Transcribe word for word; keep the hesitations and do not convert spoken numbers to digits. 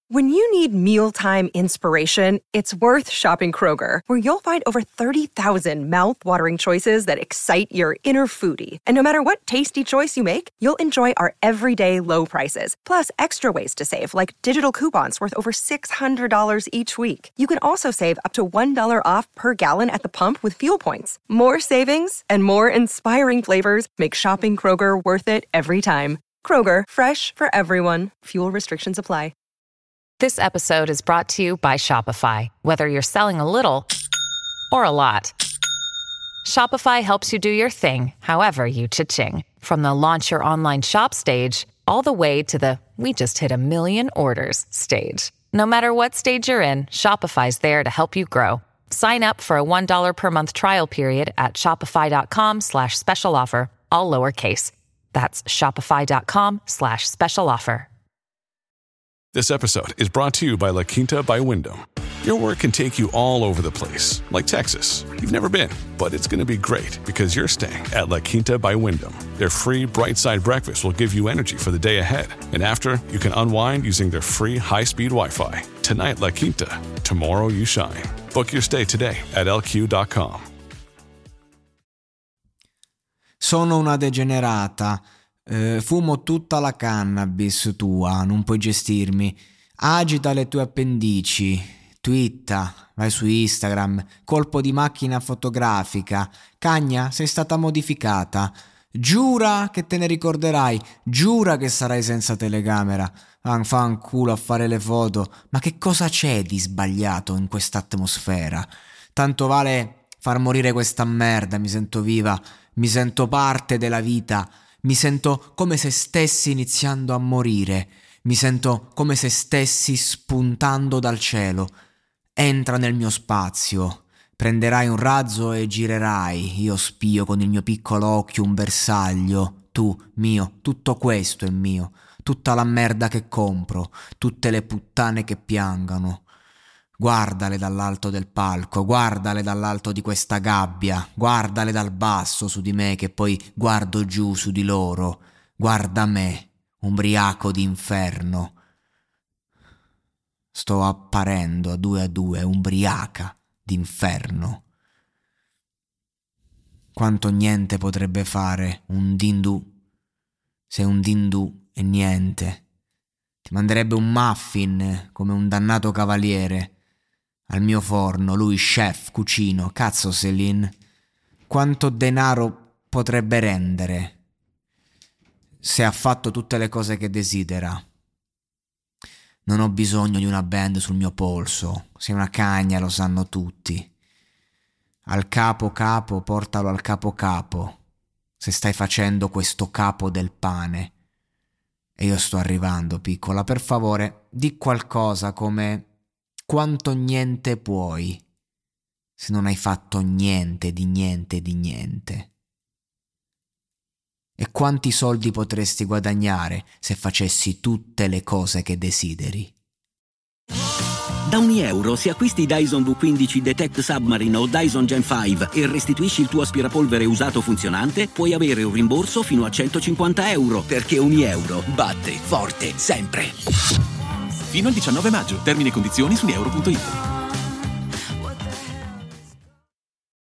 When you need mealtime inspiration, it's worth shopping Kroger, where you'll find over thirty thousand mouth-watering choices that excite your inner foodie. And no matter what tasty choice you make, you'll enjoy our everyday low prices, plus extra ways to save, like digital coupons worth over six hundred dollars each week. You can also save up to one dollar off per gallon at the pump with fuel points. More savings and more inspiring flavors make shopping Kroger worth it every time. Kroger, fresh for everyone. Fuel restrictions apply. This episode is brought to you by Shopify. Whether you're selling a little or a lot, Shopify helps you do your thing, however you cha-ching. From the launch your online shop stage, all the way to the we just hit a million orders stage. No matter what stage you're in, Shopify's there to help you grow. Sign up for a one dollar per month trial period at shopify.com slash special offer, all lowercase. That's shopify.com slash special offer. This episode is brought to you by La Quinta by Wyndham. Your work can take you all over the place, like Texas. You've never been, but it's going to be great because you're staying at La Quinta by Wyndham. Their free Bright Side breakfast will give you energy for the day ahead. And after, you can unwind using their free high-speed Wi-Fi. Tonight, La Quinta. Tomorrow, you shine. Book your stay today at L Q dot com. Sono una degenerata. Eh, fumo tutta la cannabis tua, non puoi gestirmi. Agita le tue appendici, twitta, vai su Instagram, colpo di macchina fotografica. Cagna, sei stata modificata. Giura che te ne ricorderai, giura che sarai senza telecamera. Fanculo a fare le foto, ma che cosa c'è di sbagliato in questa atmosfera? Tanto vale far morire questa merda, mi sento viva, mi sento parte della vita. Mi sento come se stessi iniziando a morire. Mi sento come se stessi spuntando dal cielo. Entra nel mio spazio. Prenderai un razzo e girerai. Io spio con il mio piccolo occhio un bersaglio. Tu, mio, tutto questo è mio. Tutta la merda che compro. Tutte le puttane che piangano. Guardale dall'alto del palco, guardale dall'alto di questa gabbia, guardale dal basso su di me che poi guardo giù su di loro. Guarda me, ubriaco d'inferno. Sto apparendo a due a due, ubriaca d'inferno. Quanto niente potrebbe fare un dindù, se un dindù è niente. Ti manderebbe un muffin come un dannato cavaliere. Al mio forno, lui chef, cucino, cazzo Céline. Quanto denaro potrebbe rendere se ha fatto tutte le cose che desidera? Non ho bisogno di una band sul mio polso. Sei una cagna, lo sanno tutti. Al capo capo, portalo al capo capo. Se stai facendo questo capo del pane. E io sto arrivando, piccola. Per favore, di qualcosa come... Quanto niente puoi, se non hai fatto niente di niente di niente? E quanti soldi potresti guadagnare se facessi tutte le cose che desideri? Da ogni euro, se acquisti Dyson V quindici Detect Submarine o Dyson Gen cinque e restituisci il tuo aspirapolvere usato funzionante, puoi avere un rimborso fino a centocinquanta euro, perché ogni euro batte forte sempre. Fino al diciannove maggio. Termini e condizioni su euro punto it.